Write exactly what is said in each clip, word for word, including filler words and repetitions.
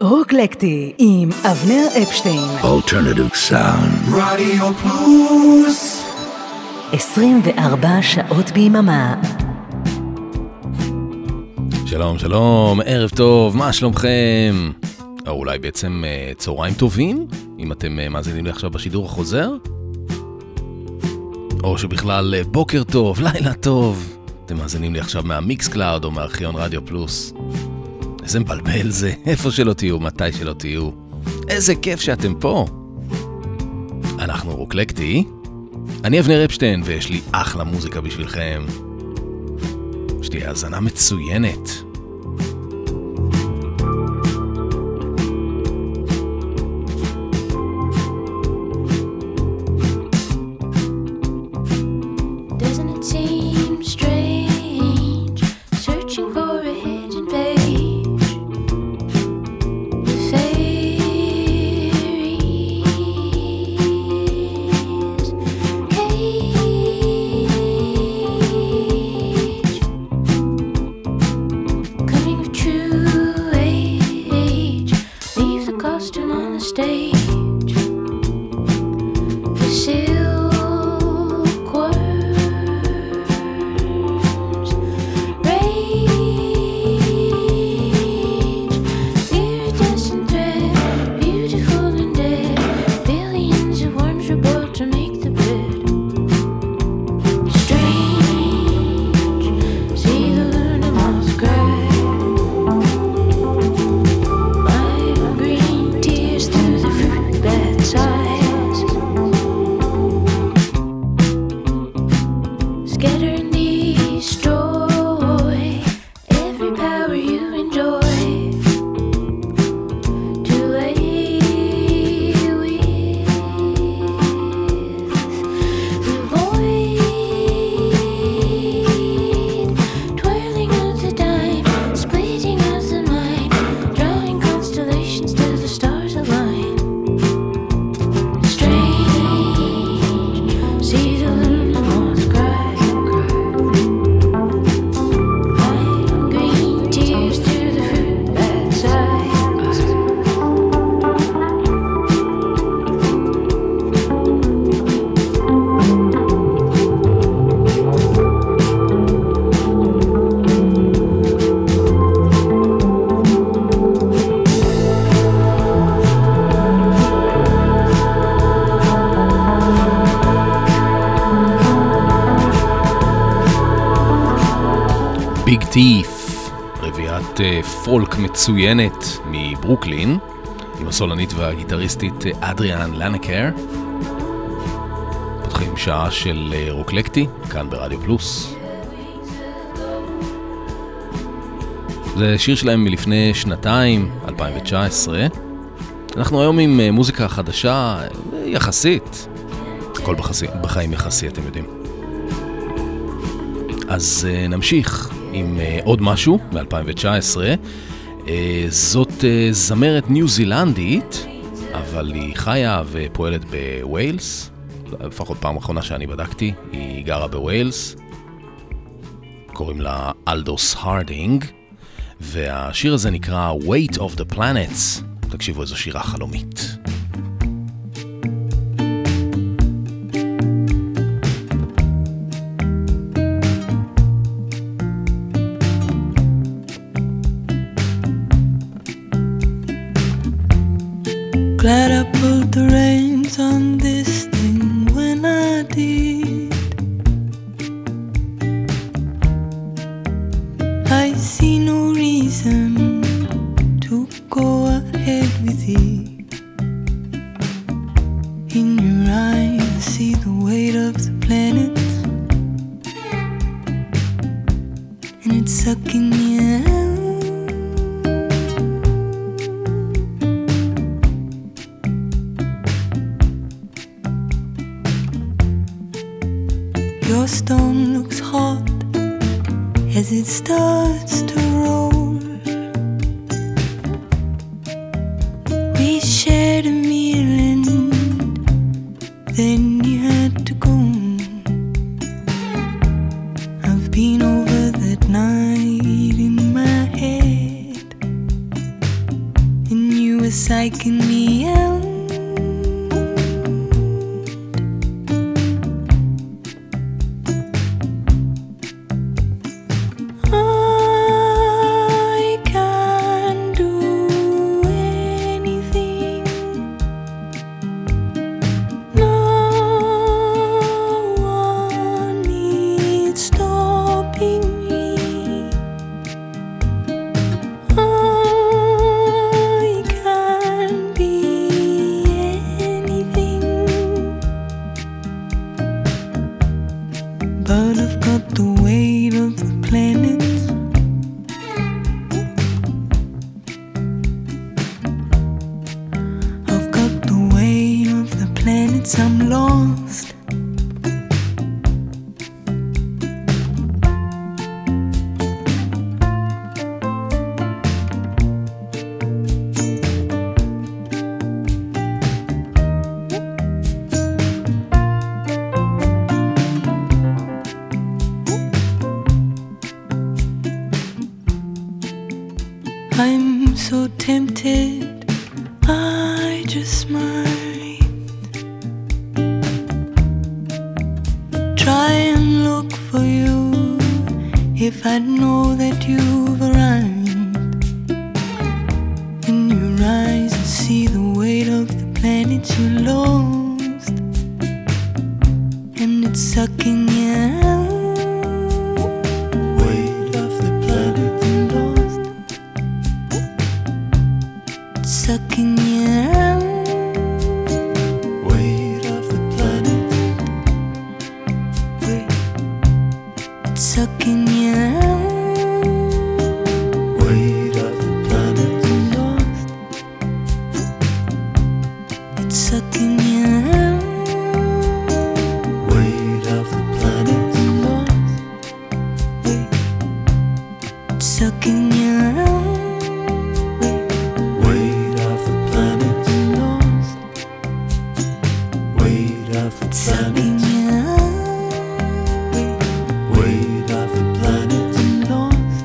רוקלקטי עם אבנר אפשטיין. Alternative Sound. רדיו פלוס. עשרים וארבע שעות ביממה. שלום, שלום, ערב טוב, מה שלומכם? או אולי בעצם צהריים טובים, אם אתם מאזינים לי עכשיו בשידור החוזר? או שבכלל בוקר טוב, לילה טוב. אתם מאזינים לי עכשיו מהמיקס קלאוד או מארכיון רדיו פלוס. איזה מבלבל זה, איפה שלא תהיו, מתי שלא תהיו. איזה כיף שאתם פה. אנחנו רוקלקטי. אני אבנר אפשטיין ויש לי אחלה מוזיקה בשבילכם. יש לי האזנה מצוינת. ביג טיף, רביעת פולק מצוינת מברוקלין, עם הסולנית והגיטריסטית אדריאן לנקר. פותחים שעה של רוקלקטי, כאן ברדיו פלוס. זה שיר שלהם מלפני שנתיים, אלפיים תשע עשרה. אנחנו היום עם מוזיקה חדשה יחסית. הכל בחסי, בחיים יחסי, אתם יודעים. אז נמשיך עם uh, עוד משהו מ-אלפיים תשע עשרה. uh, זאת uh, זמרת ניו זילנדית, אבל היא חיה ופועלת בווילס, לפחות פעם אחרונה שאני בדקתי, היא גרה בווילס. קוראים לה אלדוס הרדינג, והשיר הזה נקרא Weight of the Planets. תקשיבו, איזו שירה חלומית. Glad I pulled the reins on this thing when I did. I see no reason to go ahead with it. In your eyes I see the weight of the planets, and it's sucking me out. Your stone looks hot as it starts to roll. We shared a meal and then you had to go. I've been over that night in my head, and you was psyching me out. I'm so tempted, I just might try and look for you. If I know that you've arrived, in your eyes I see the weight of the planets you lost, and it's sucking you out. Weight of the planet lost, it's sucking you out. Weight of the planet, weight, it's sucking you out. Weight of the planet lost, it's sucking you out. Weight of the planet lost, weight, it's sucking you out. Weight of the planet lost, weight of the planet weight of the planet lost.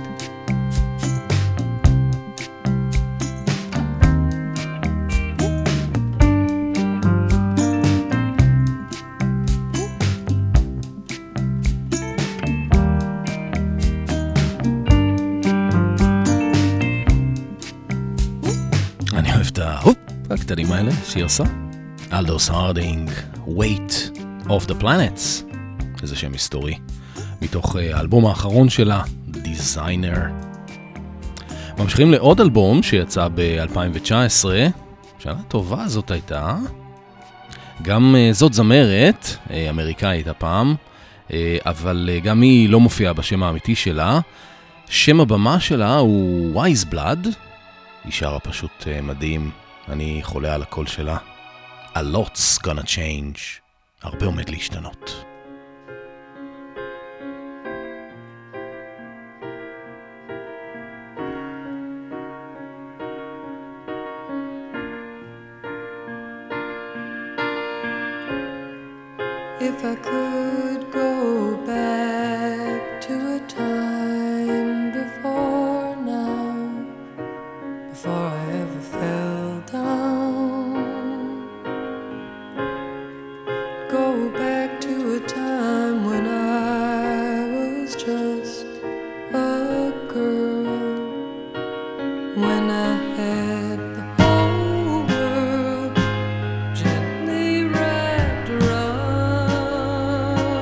אני אוהב את ההופ הקטנים האלה שהיא עושה. אלדוס הרדינג, Weight of the Planets, איזה שם היסטורי, מתוך האלבום האחרון שלה, Designer. ממשיכים לעוד אלבום שיצא ב-אלפיים תשע עשרה, שנה טובה זאת הייתה, גם זאת זמרת, אמריקאית הפעם, אבל גם היא לא מופיעה בשם האמיתי שלה. שם הבמה שלה הוא Wise Blood, היא שרה פשוט מדהים, אני חולה על הקול שלה. A lot's gonna change, הרבה עומד להשתנות. If I could go back to a time before now, before I ever fell down, go back to a time when I was just a girl, when I had the whole world gently wrapped around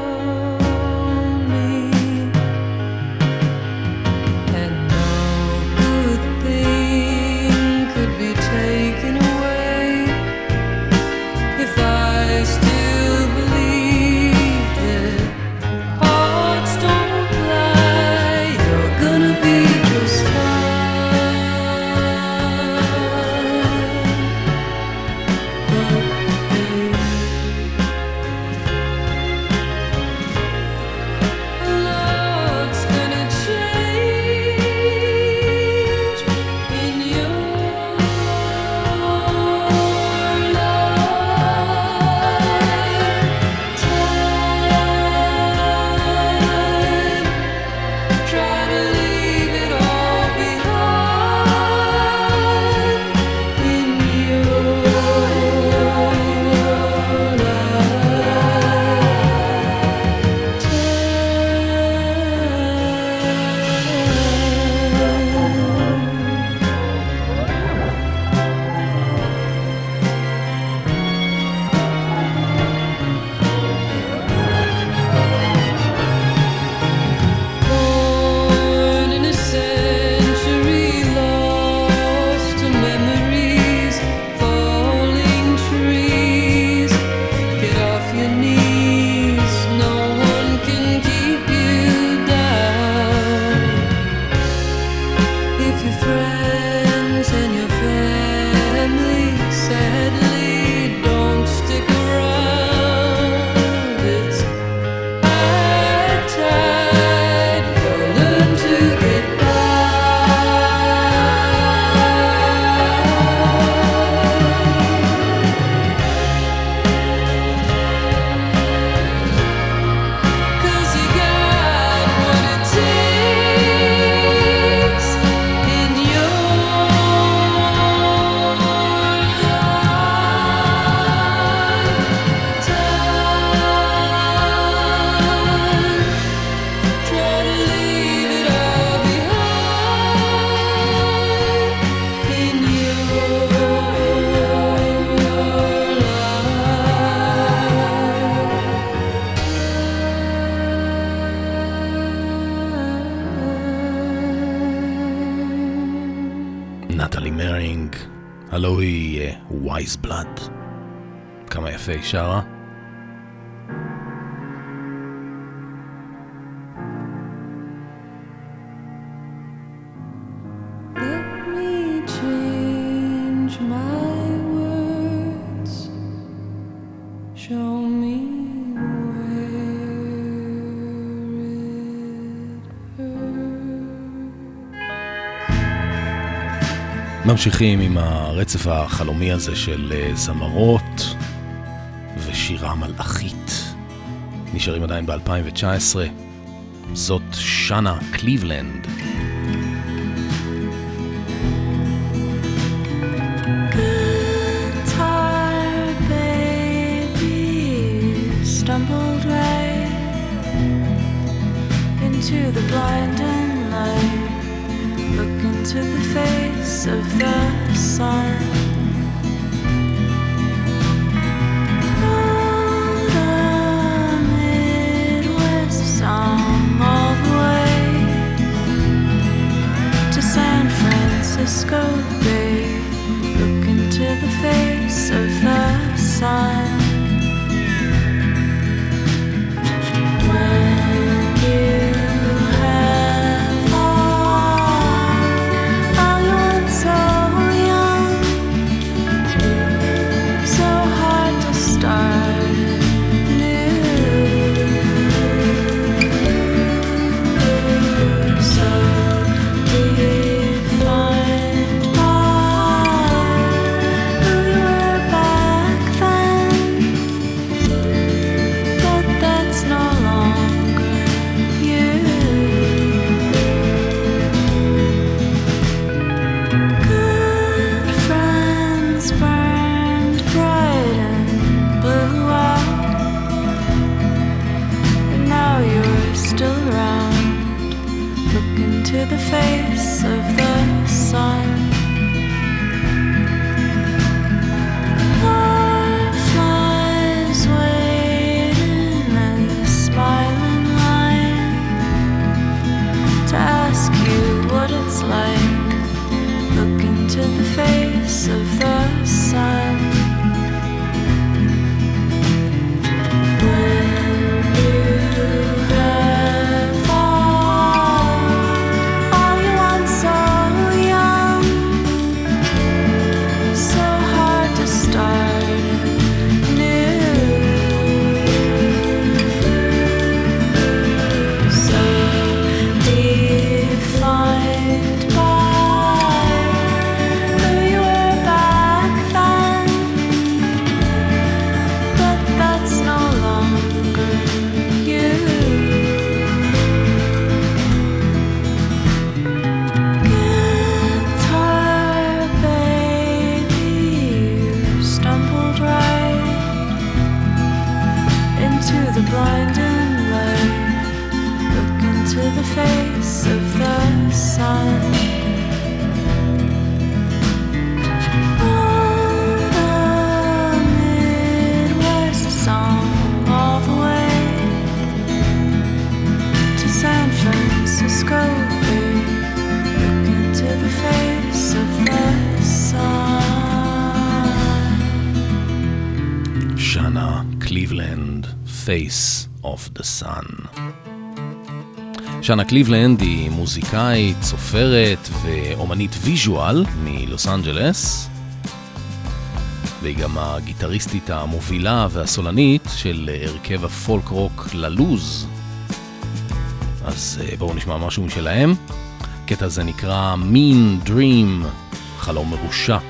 הלו היא ווייז בלאד. כמה יפה היא שרה. ממשיכים עם הרצף החלומי הזה של זמרות ושירה מלאכית. נשארים עדיין ב-אלפיים תשע עשרה. זאת שנה קליבלנד. Guitar baby stumbled right into the blinding light. Look into the face of the sun. Wrote a Midwest song all the way to San Francisco Bay. Look into the face of the sun. Face of the Sun. שנה קליבלנד היא מוזיקאית, סופרת ואומנית ויז'ואל מלוס אנג'לס, והיא גם הגיטריסטית המובילה והסולנית של הרכב הפולק רוק ללוז. אז בואו נשמע משהו משלהם. הקטע הזה נקרא Mean Dream, חלום מרושע.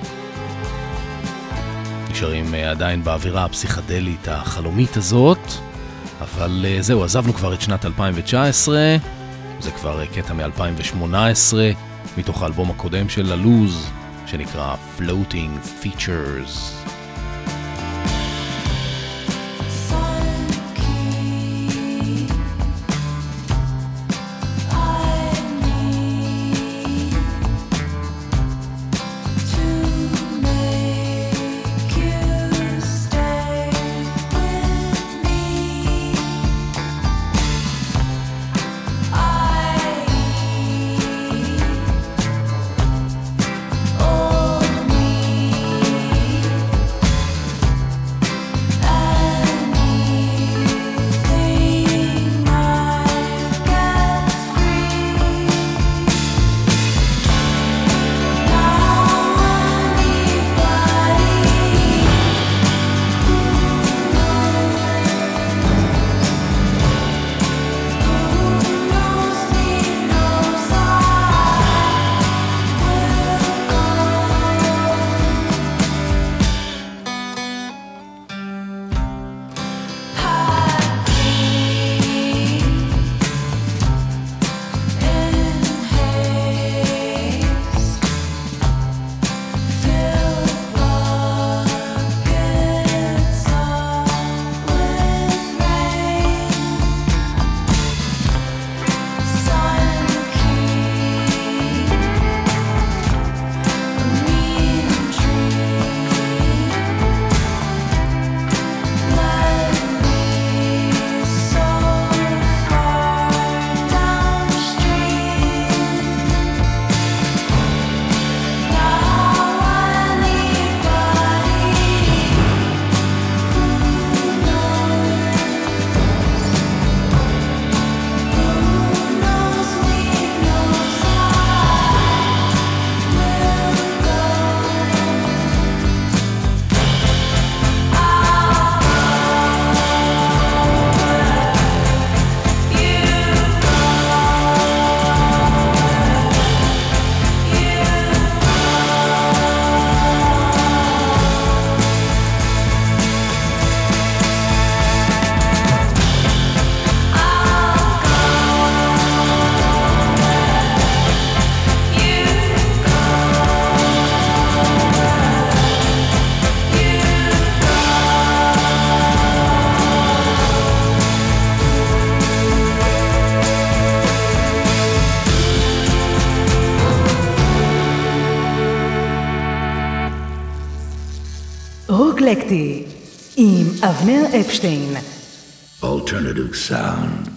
נשארים עדיין באווירה הפסיכדלית החלומית הזאת, אבל זהו, עזבנו כבר את שנת אלפיים תשע עשרה, זה כבר קטע מ-אלפיים שמונה עשרה, מתוך האלבום הקודם של הלוז, שנקרא Floating Features. Oh, me. רוקלקטי עם אבנר אפשטיין. Alternative sound.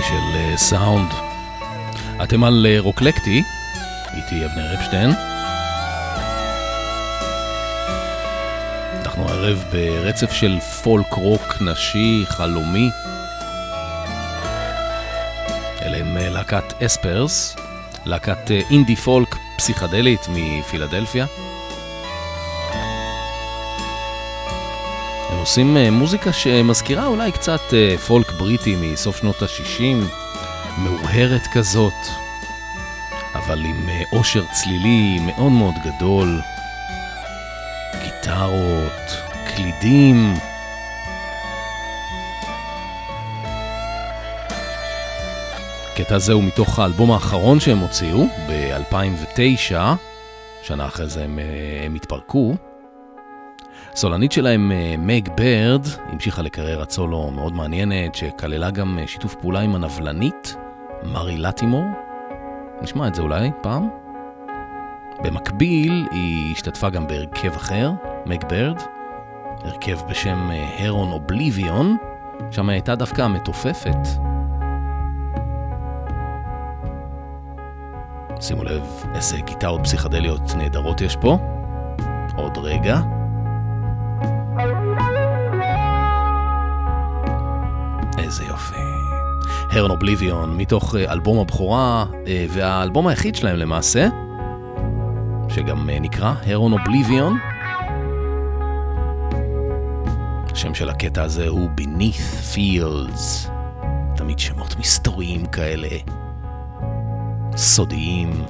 יופי של סאונד. אתם על רוקלקטי, איתי אבנר אפשטיין. אנחנו ערב ברצף של פולק רוק נשי, חלומי. אלה הם להקת אספרס, להקת אינדי פולק פסיכדלית מפילדלפיה. הם עושים מוזיקה שמזכירה אולי קצת פולק בריטי מסוף שנות ה-שישים, מאוהרת כזאת, אבל עם עושר צלילי מאוד מאוד גדול, גיטרות, קלידים. הקטע הזה הוא מתוך האלבום האחרון שהם הוציאו ב-אלפיים ותשע, שנה אחרי זה הם, הם התפרקו. סולנית שלהם, מג ברד, המשיכה לקריירת סולו מאוד מעניינת, שכללה גם שיתוף פעולה עם הנבלנית, מרי לטימור. נשמע את זה אולי פעם. במקביל היא השתתפה גם בהרכב אחר, מג ברד, הרכב בשם הרון אובליביון, שם הייתה דווקא מתופפת. שימו לב איזה גיטרות פסיכדליות נהדרות יש פה. עוד רגע. איזה יופי. הרון אובליביון מתוך אלבום הבכורה, והאלבום היחיד שלהם למעשה, שגם נקרא הרון אובליביון. השם של הקטע הזה הוא Beneath Fields. תמיד שמות מסתוריים כאלה, סודיים.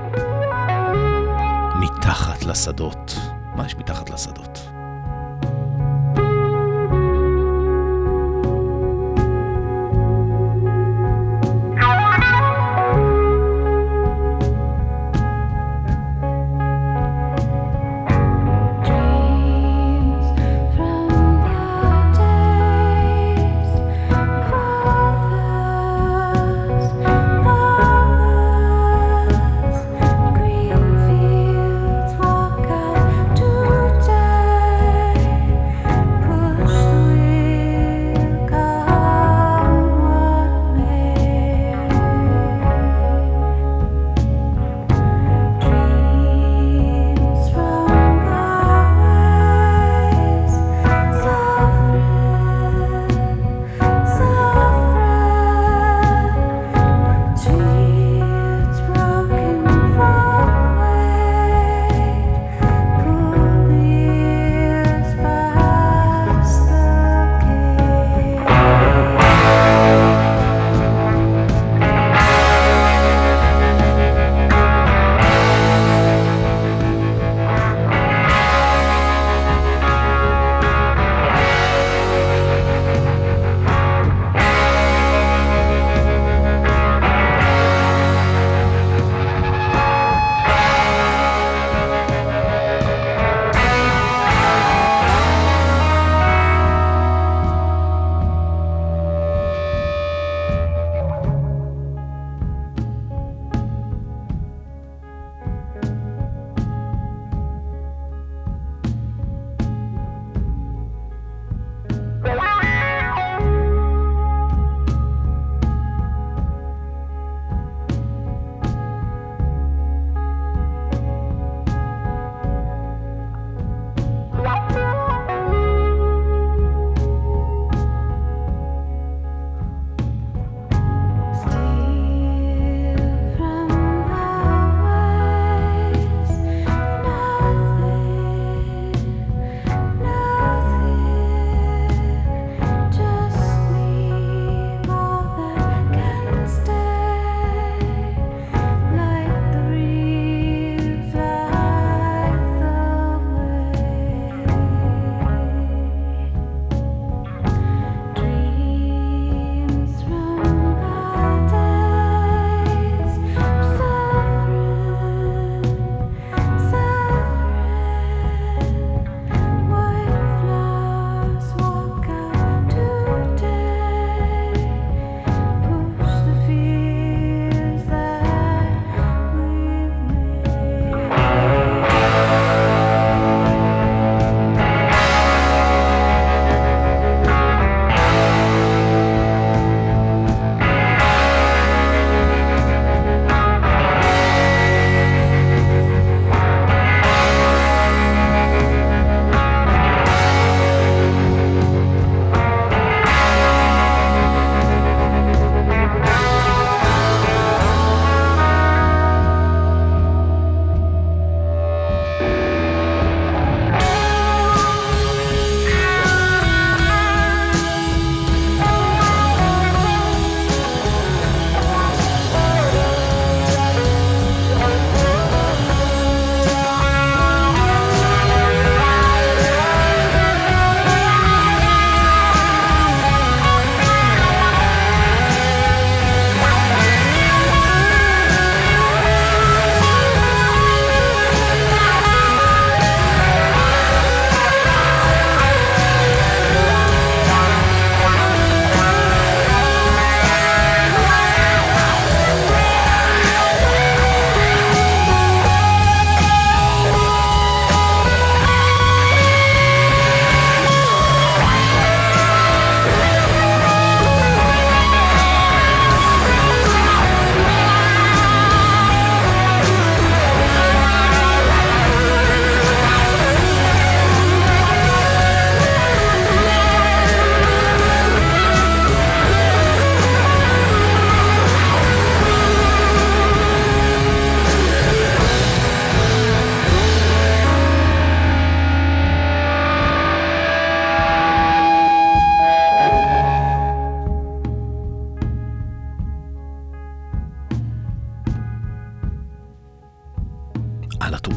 מתחת לשדות. מה יש מתחת לשדות? Green fields walk out to die.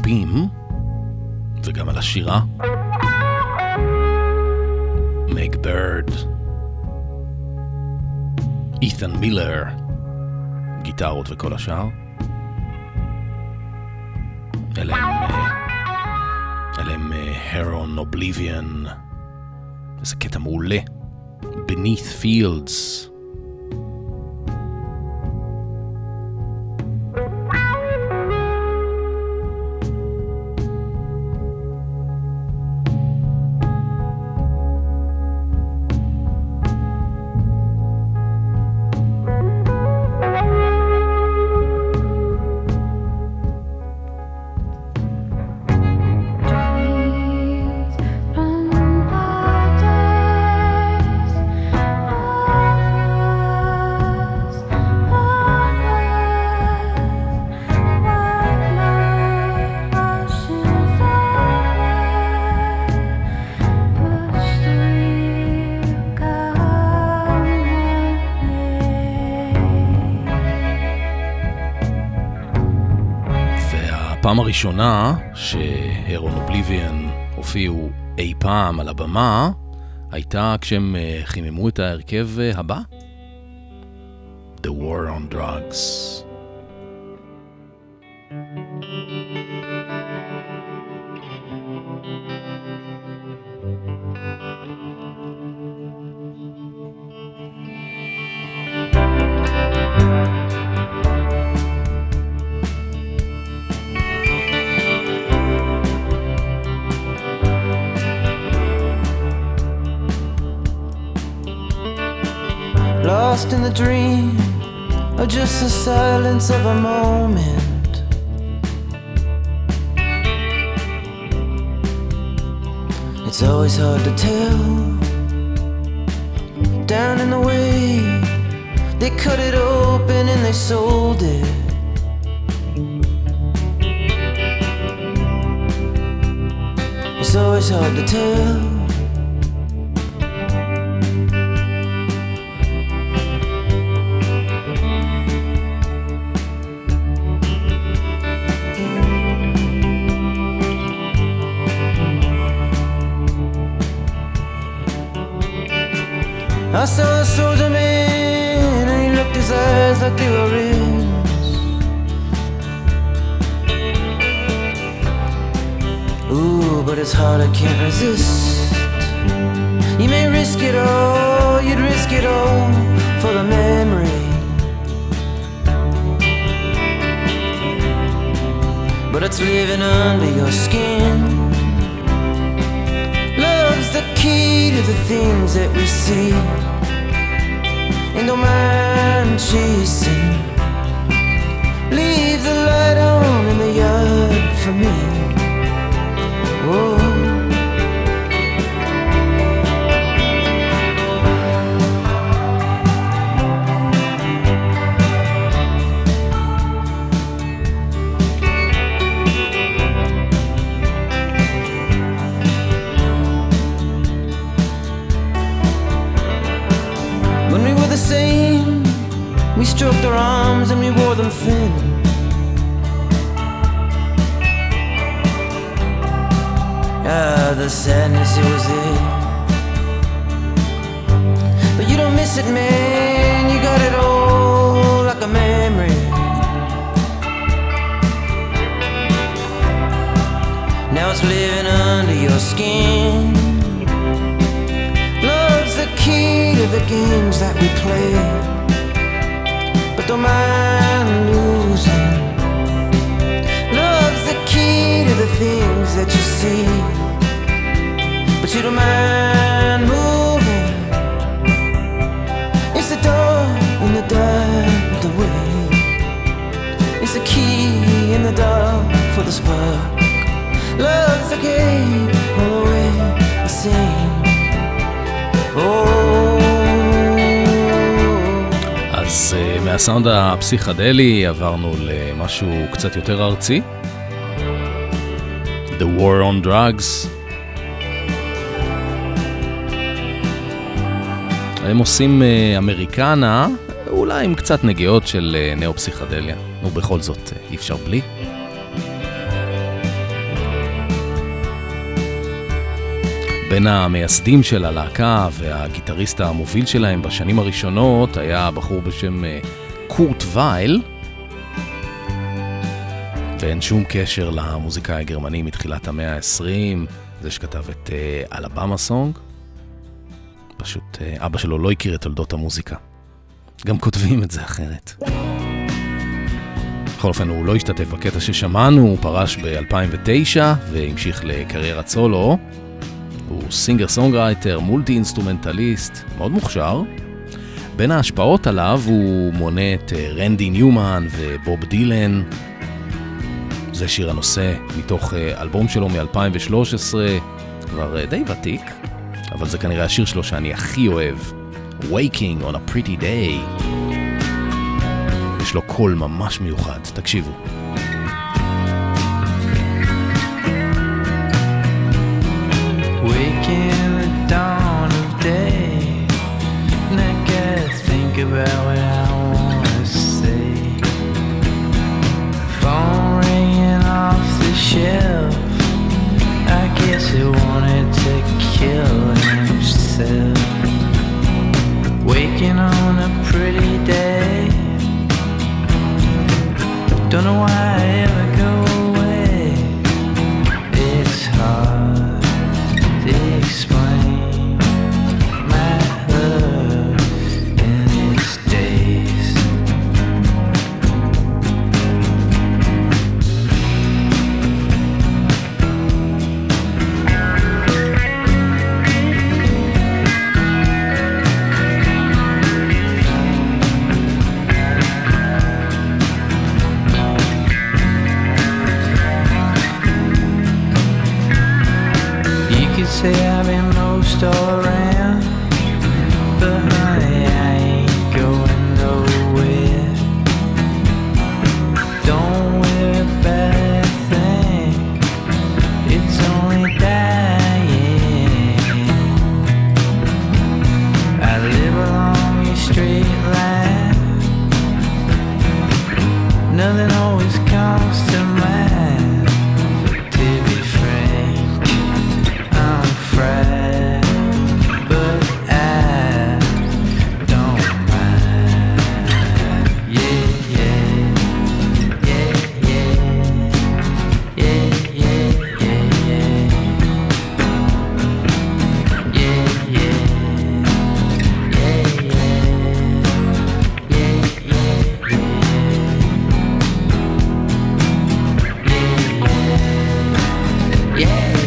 הדפים, וגם על השירה. מייק בירד, אית'ן מילר, גיטרות וכל השאר. אלה הם, אלה הם הרון אובליביון, איזה קטע מעולה, Beneath Fields. הפעם הראשונה שהרון אובליביון הופיעו אי פעם על הבמה הייתה כשהם חיממו את ההרכב הבא, The War on Drugs. Lost in the dream, or just the silence of a moment. It's always hard to tell. Down in the way, they cut it open and they sold it. It's always hard to tell. I saw a soldier man, and he looked his eyes like they were rings. Ooh, but it's hard, I can't resist. You may risk it all, you'd risk it all for the memory. But it's living under your skin. Love's the key to the things that we see. And don't mind chasing. Leave the light on in the yard for me. Whoa. Same. We stroked our arms and we wore them thin. Ah, the sadness, it was there. But you don't miss it, man. You got it all like a memory. Now it's living under your skin. The key to the games that we play, but don't mind losing. Love's the key to the things that you see, but you don't mind moving. It's the door in the dark of the way. It's the key in the dark for the spark. Love's the game all the way the same. אז uh, מהסאונד הפסיכדלי עברנו למשהו קצת יותר ארצי, The War on Drugs. הם עושים uh, אמריקנה, אולי עם קצת נגיעות של uh, נאו-פסיכדליה, ובכל זאת uh, אי אפשר בלי. בין המייסדים של הלהקה והגיטריסט המוביל שלהם בשנים הראשונות היה בחור בשם קורט וייל, ואין שום קשר למוזיקאי הגרמני מתחילת המאה ה-עשרים, זה שכתב את אלבמה סונג. פשוט אבא שלו לא הכיר את תולדות המוזיקה. גם כותבים את זה אחרת. בכל אופן, הוא לא השתתף בקטע ששמענו, הוא פרש ב-אלפיים ותשע והמשיך לקריירת סולו. הוא סינגר סונגרייטר, מולטי אינסטרומנטליסט, מאוד מוכשר. בין ההשפעות עליו הוא מונה את רנדי ניומן ובוב דילן. זה שיר הנושא מתוך אלבום שלו מ-אלפיים ושלוש עשרה, כבר די ותיק, אבל זה כנראה השיר שלו שאני הכי אוהב. Waking on a Pretty Day. יש לו קול ממש מיוחד, תקשיבו. Waking the dawn of day, and I gotta think about what I wanna say. Phone ringing off the shelf, I guess he wanted to kill himself. Waking on a pretty day, don't know why I ever go away. It's hard to explain my love in these days. Say I've been most all around, but honey, I ain't going nowhere. Don't worry about a thing, it's only dying. I live along a straight line, nothing always comes to mind. To be frank, I'm fried, but I don't mind. Yeah, yeah, yeah, yeah, yeah, yeah, yeah, yeah, yeah, yeah, yeah, yeah, yeah, yeah.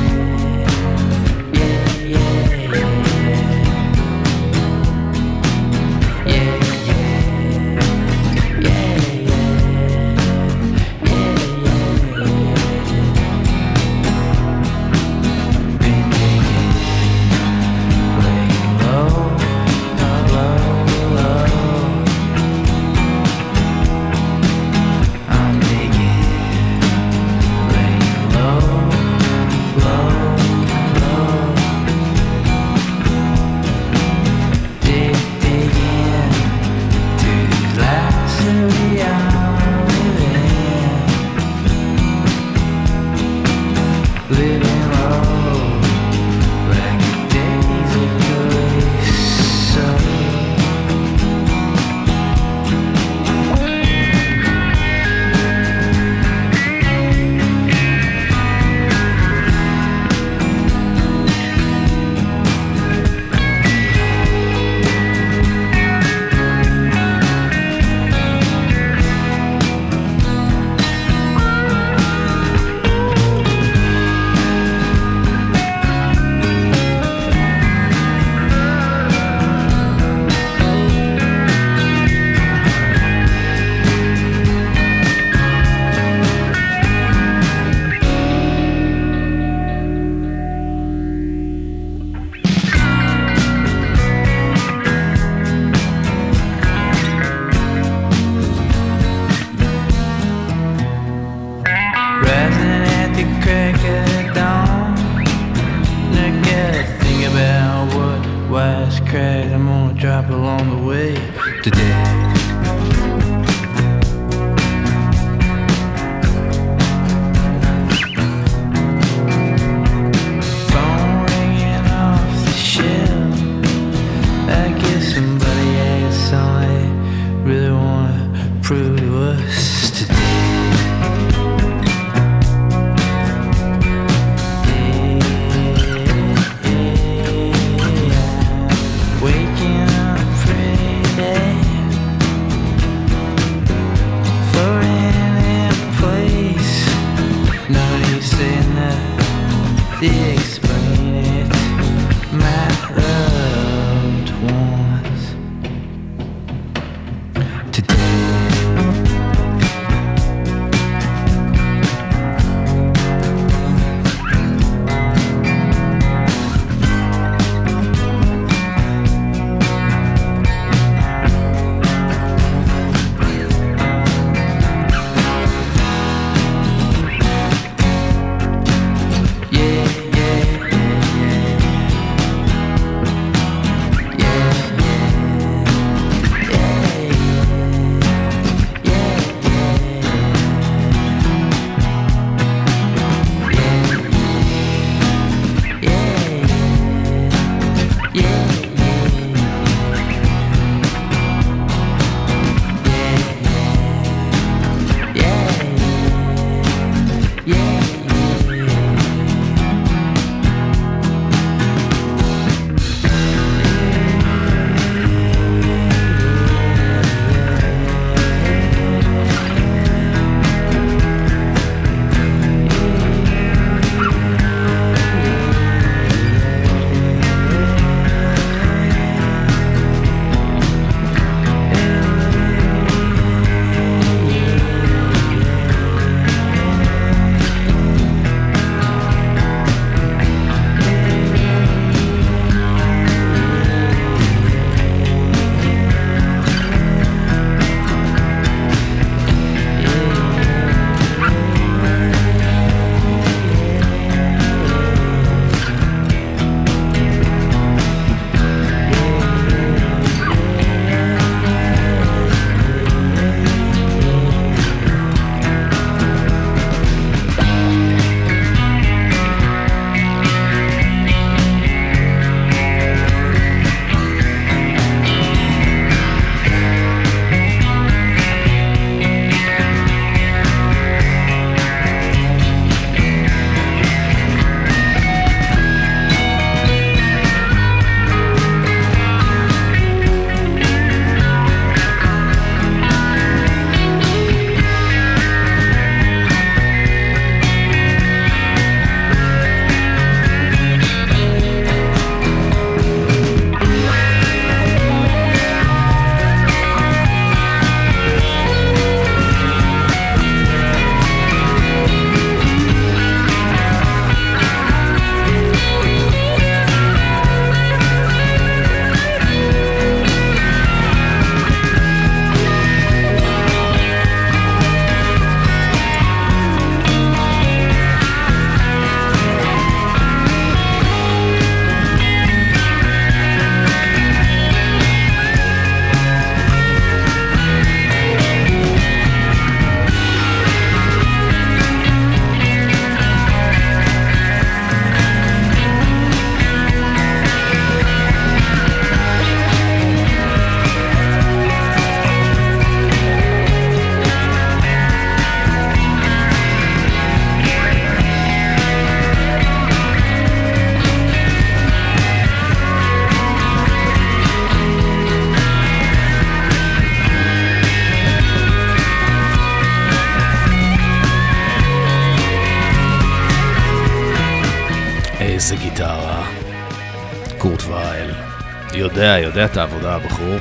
drop along the way today. Phone ringing guess somebody has something they really want to prove to us today. They explain it, my loved ones. Today איזה גיטרה. קורט וייל. יודע, יודע את העבודה הבחור.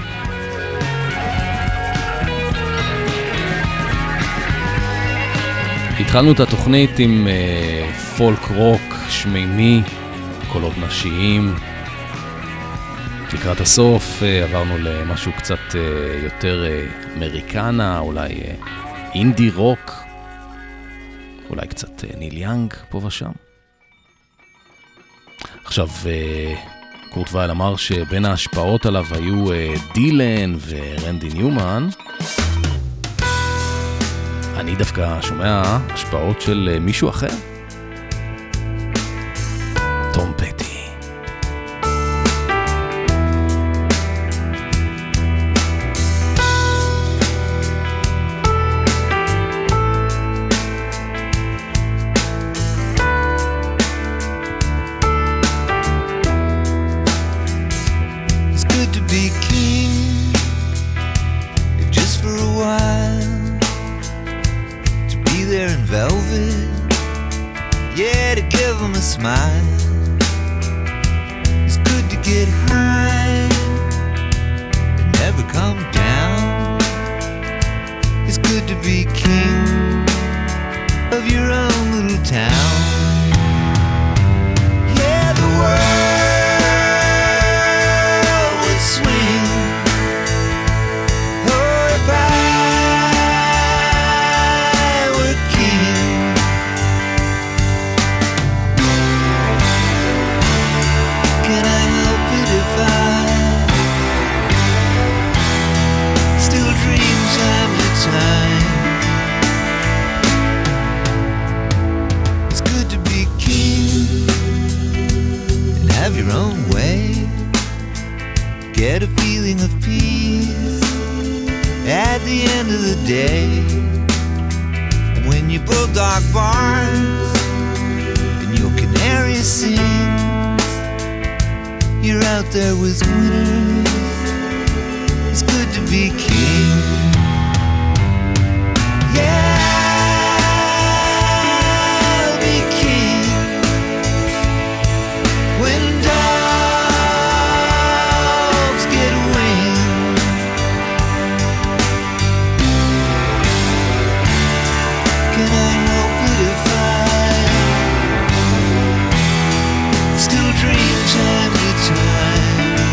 התחלנו את התוכנית עם uh, פולק רוק שמימי, קולות נשיים. לקראת הסוף uh, עברנו למשהו קצת uh, יותר uh, אמריקנה, אולי uh, אינדי רוק, אולי קצת uh, ניל יאנג פה ושם. עכשיו, uh, קורט וייל אמר שבין ההשפעות עליו היו uh, דילן ורנדי ניומן. אני דווקא שומע השפעות של uh, מישהו אחר. טום פטי. smile. It's good to get high and never come down. It's good to be king of your own little town. Yeah, the world would swing. Oh, if I were king. Can I help it if I still dream time to time? It's good to be king and have your own way. Get a feeling of peace at the end of the day. And when your bulldog barks and your canary sings, you're out there with winners. It's good to be king. Yeah, I'll be king when dogs get wings. Can I help it if I still dream time to time?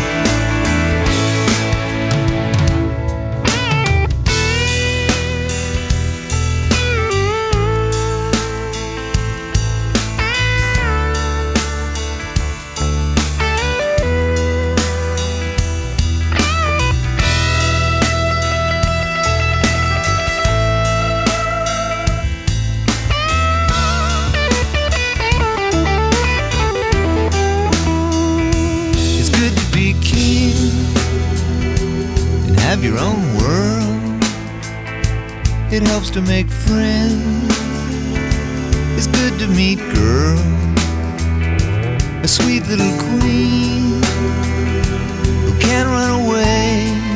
It's good to be king and have your own world. It helps to make friends. It's good to meet girls, a sweet little queen who can't run away.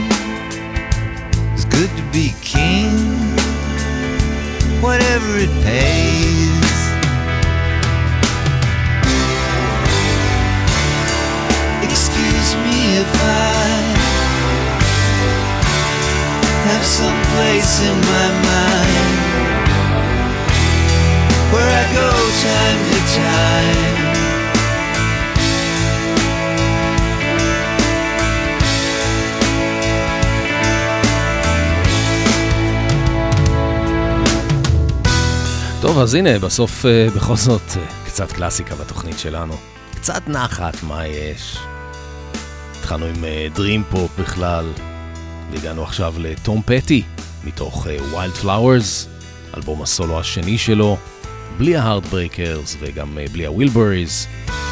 It's good to be king, whatever it pays. Excuse me if I have some place in my mind where I go time to time. טוב, אז הנה, בסוף בכל זאת קצת קלאסיקה בתוכנית שלנו. קצת נחת, מה יש? התחלנו עם דרים פופ בכלל, והגענו עכשיו לטום פטי, מתוך ווילד פלאוורס, אלבום הסולו השני שלו, בלי ההארדברייקרס וגם בלי הווילבריז.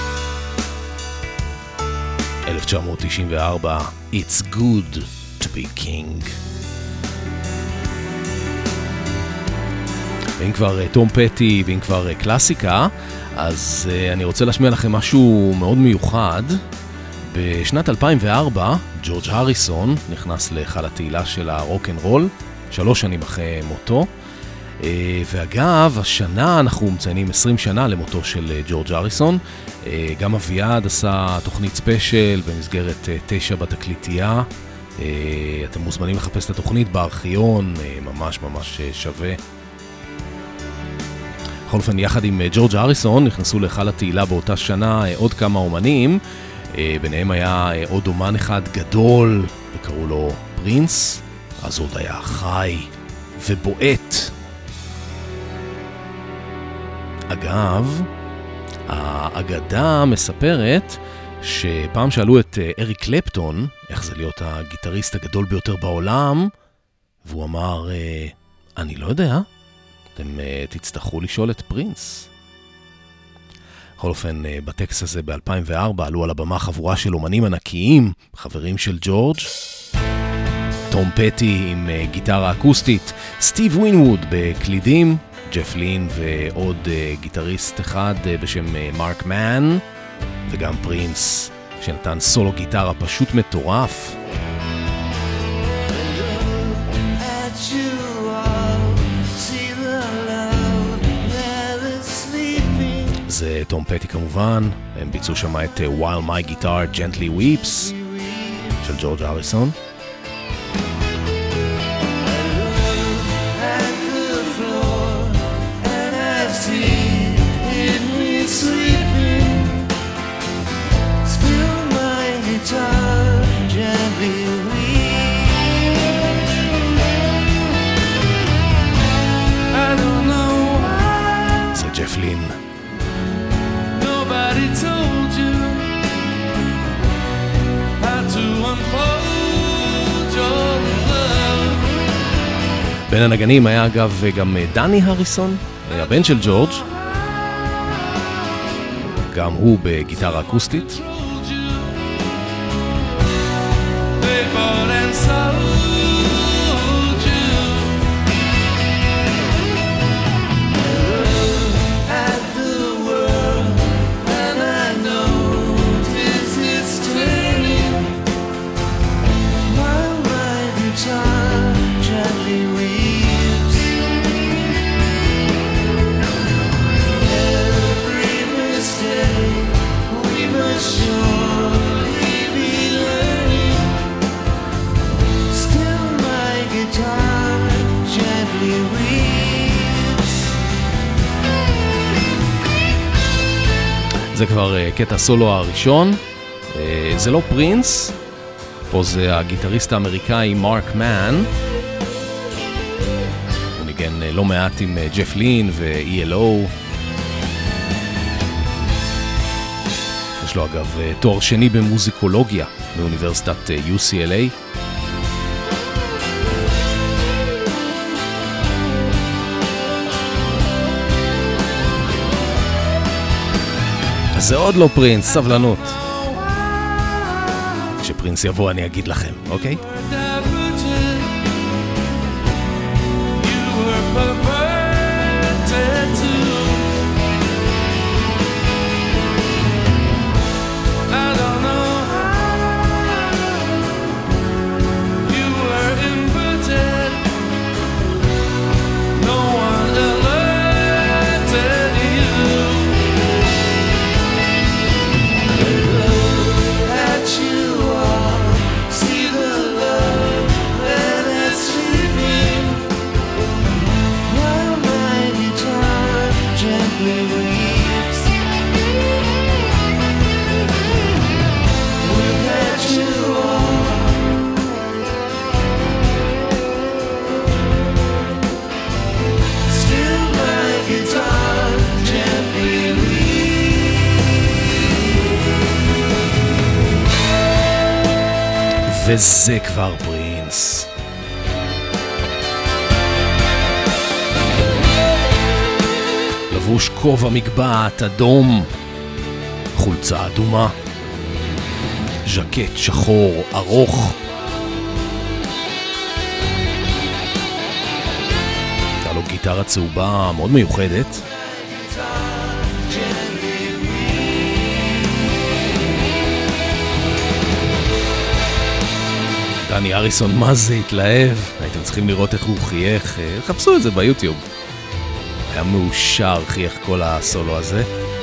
אלף תשע מאות תשעים וארבע, It's Good to be King. ואם כבר טום פטי ואם כבר קלאסיקה, אז uh, אני רוצה להשמיע לכם משהו מאוד מיוחד. בשנת אלפיים וארבע, ג'ורג' הריסון נכנס להיכל התהילה של הרוק אנד רול, שלוש שנים אחרי מותו. Uh, ואגב, השנה אנחנו מציינים עשרים שנה למותו של uh, ג'ורג' הריסון. Uh, גם אביעד עשה תוכנית ספיישל במסגרת uh, תשע בתקליטייה. Uh, אתם מוזמנים לחפש את התוכנית בארכיון, uh, ממש ממש uh, שווה. בכל אופן, יחד עם ג'ורג' הריסון נכנסו להיכל התהילה באותה שנה עוד כמה אומנים. ביניהם היה עוד אומן אחד גדול, וקראו לו פרינס. אז עוד היה חי ובועט. אגב, האגדה מספרת שפעם שאלו את אריק קלפטון איך זה להיות הגיטריסט הגדול ביותר בעולם, והוא אמר, אני לא יודע, אתם uh, תצטרכו לשאול את פרינס. בכל אופן, uh, בטקסט הזה ב-אלפיים וארבע עלו על הבמה חבורה של אומנים ענקיים, חברים של ג'ורג'. טום פטי עם uh, גיטרה אקוסטית, סטיב ווינווד בקלידים, ג'ף לין ועוד uh, גיטריסט אחד uh, בשם uh, מרק מן, וגם פרינס שנתן סולו גיטרה פשוט מטורף. זה טום פטי כמובן, הם ביצעו שם את While My Guitar Gently Weeps של ג'ורג' הריסון. זה ג'ף לין. Nobody told you how to unfold your love. בין הנגנים היה אגב גם דני הריסון, הבן של ג'ורג', גם הוא בגיטרה אקוסטית. They bought and sold you. At the world, and I notice it's turning. While my guitar gently weeps. Every mistake we must surely be learning. Still my guitar gently weeps. זה כבר uh, קטע סולו הראשון, uh, זה לא פרינס, פה זה הגיטריסט האמריקאי מרק מן, הוא ניגן uh, לא מעט עם uh, ג'ף לין ו-E L O. יש לו אגב uh, תואר שני במוזיקולוגיה באוניברסיטת uh, U C L A. אז זה עוד לא פרינס, סבלנות. כשפרינס יבוא אני אגיד לכם, אוקיי? You were perverted too. I don't know how you were inverted. No one alerted you. Look at you all, see the love that is sleeping. While my guitar gently weeps. Look at you all. Still my guitar gently weeps. וזה כבר פרינס. לבוש כובע מגבעת אדום, חולצה אדומה, ז'קט שחור ארוך. הייתה לו גיטרה צהובה מאוד מיוחדת. דני הריסון מה זה התלהב, הייתם צריכים לראות איך הוא חייך, חפשו את זה ביוטיוב. היה מאושר, חייך כל הסולו הזה.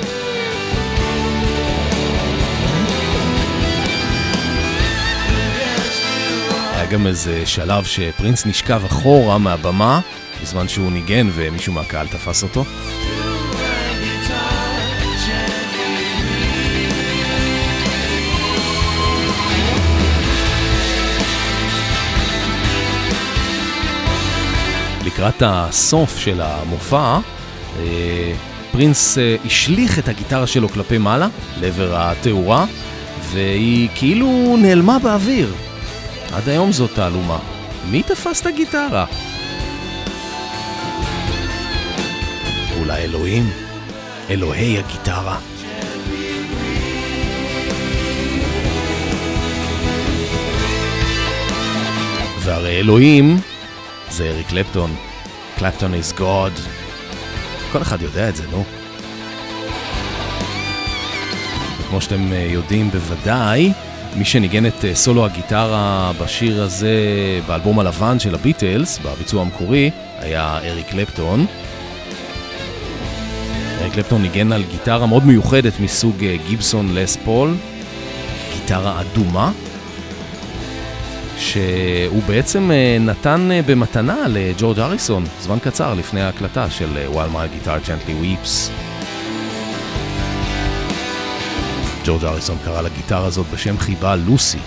היה גם איזה שלב שפרינס נשכב אחורה מהבמה, בזמן שהוא ניגן ומישהו מהקהל תפס אותו. לקראת הסוף של המופע, פרינס השליך את הגיטרה שלו כלפי מעלה, לעבר התאורה, והיא כאילו נעלמה באוויר. עד היום זאת תעלומה. מי תפס את הגיטרה? אולי אלוהים? אלוהי הגיטרה. והרי אלוהים זה אריק קלפטון. קלפטון is God. כל אחד יודע את זה, נו. כמו שאתם יודעים בוודאי, מי שניגן את סולו הגיטרה בשיר הזה באלבום הלבן של הביטלס, בביצוע המקורי, היה אריק קלפטון. אריק קלפטון ניגן על גיטרה מאוד מיוחדת מסוג גיבסון לס פול, גיטרה אדומה, שהוא בעצם נתן במתנה לג'ורג' הריסון זמן קצר לפני ההקלטה של While My Guitar Gently Weeps. ג'ורג' הריסון קרא לגיטרה הזאת בשם חיבה לוסי.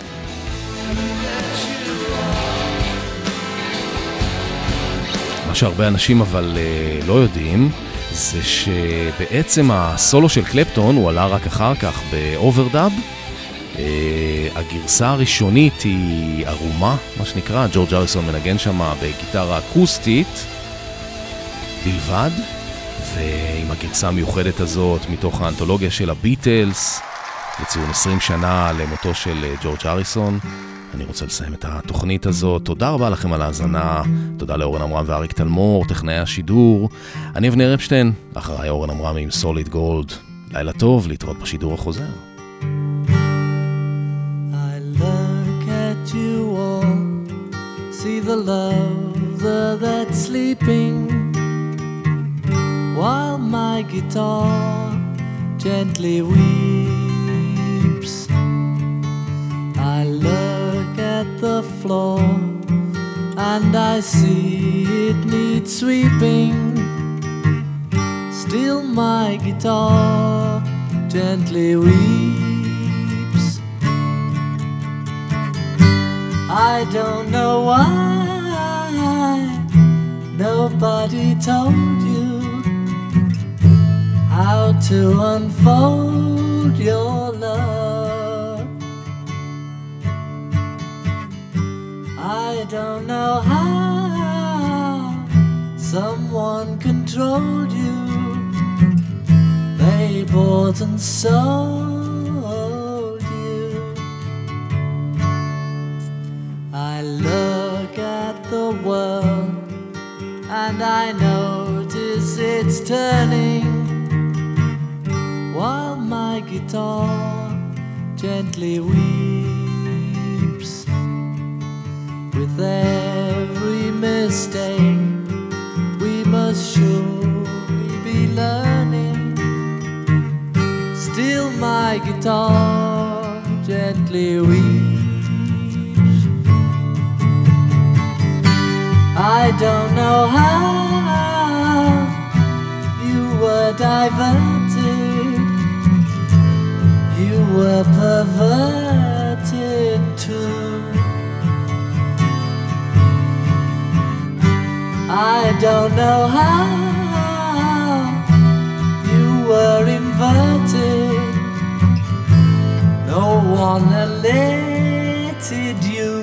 מה שהרבה אנשים אבל uh, לא יודעים זה שבעצם הסולו של קלפטון הוא עלה רק אחר כך באוברדאב. uh, הגרסה הראשונית היא ערומה, מה שנקרא, ג'ורג' הריסון מנגן שם בגיטרה אקוסטית בלבד, ועם הגרסה המיוחדת הזאת מתוך האנתולוגיה של הביטלס לציון עשרים שנה למותו של ג'ורג' הריסון. אני רוצה לסיים את התוכנית הזאת. תודה רבה לכם על ההאזנה. תודה לאורן עמרם ואריק תלמור, טכנאי השידור. אני אבנר אפשטיין, אחריי אורן עמרם עם סוליד גולד. לילה טוב, להתראות בשידור החוזר. I look at you all, see the lover that's sleeping, while my guitar gently weeps. I look at the floor and I see it needs sweeping. Still my guitar gently weeps. I don't know why nobody told you how to unfold your love. I don't know how someone controlled you. They bought and sold you. I look at the world and I notice it's turning, while my guitar gently weeps. With every mistake we must surely be learning. Still my guitar gently weeps. I don't know how you were diverted, you were perverted too. I don't know how you were inverted, no one elated you.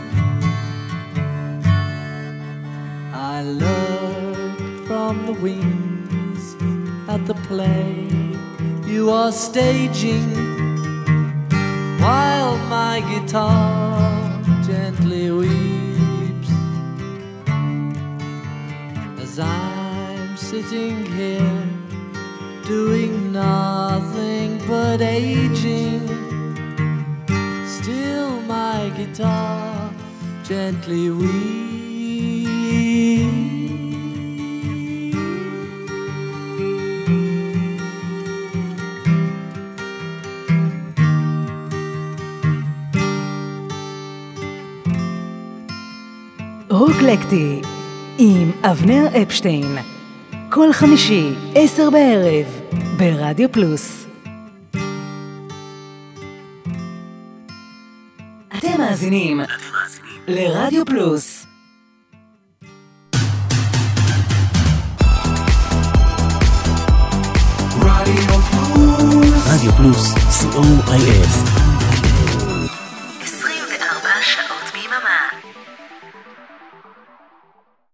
I look from the wings at the play you are staging, while my guitar gently weeps. As I'm sitting here doing nothing but aging, still my guitar gently weeps. רוקלקטי עם אבנר אפשטיין, כל חמישי עשר בערב ברדיו פלוס. אתם מאזינים לרדיו פלוס. רדיו פלוס, רדיו פלוס, סי או איי אס.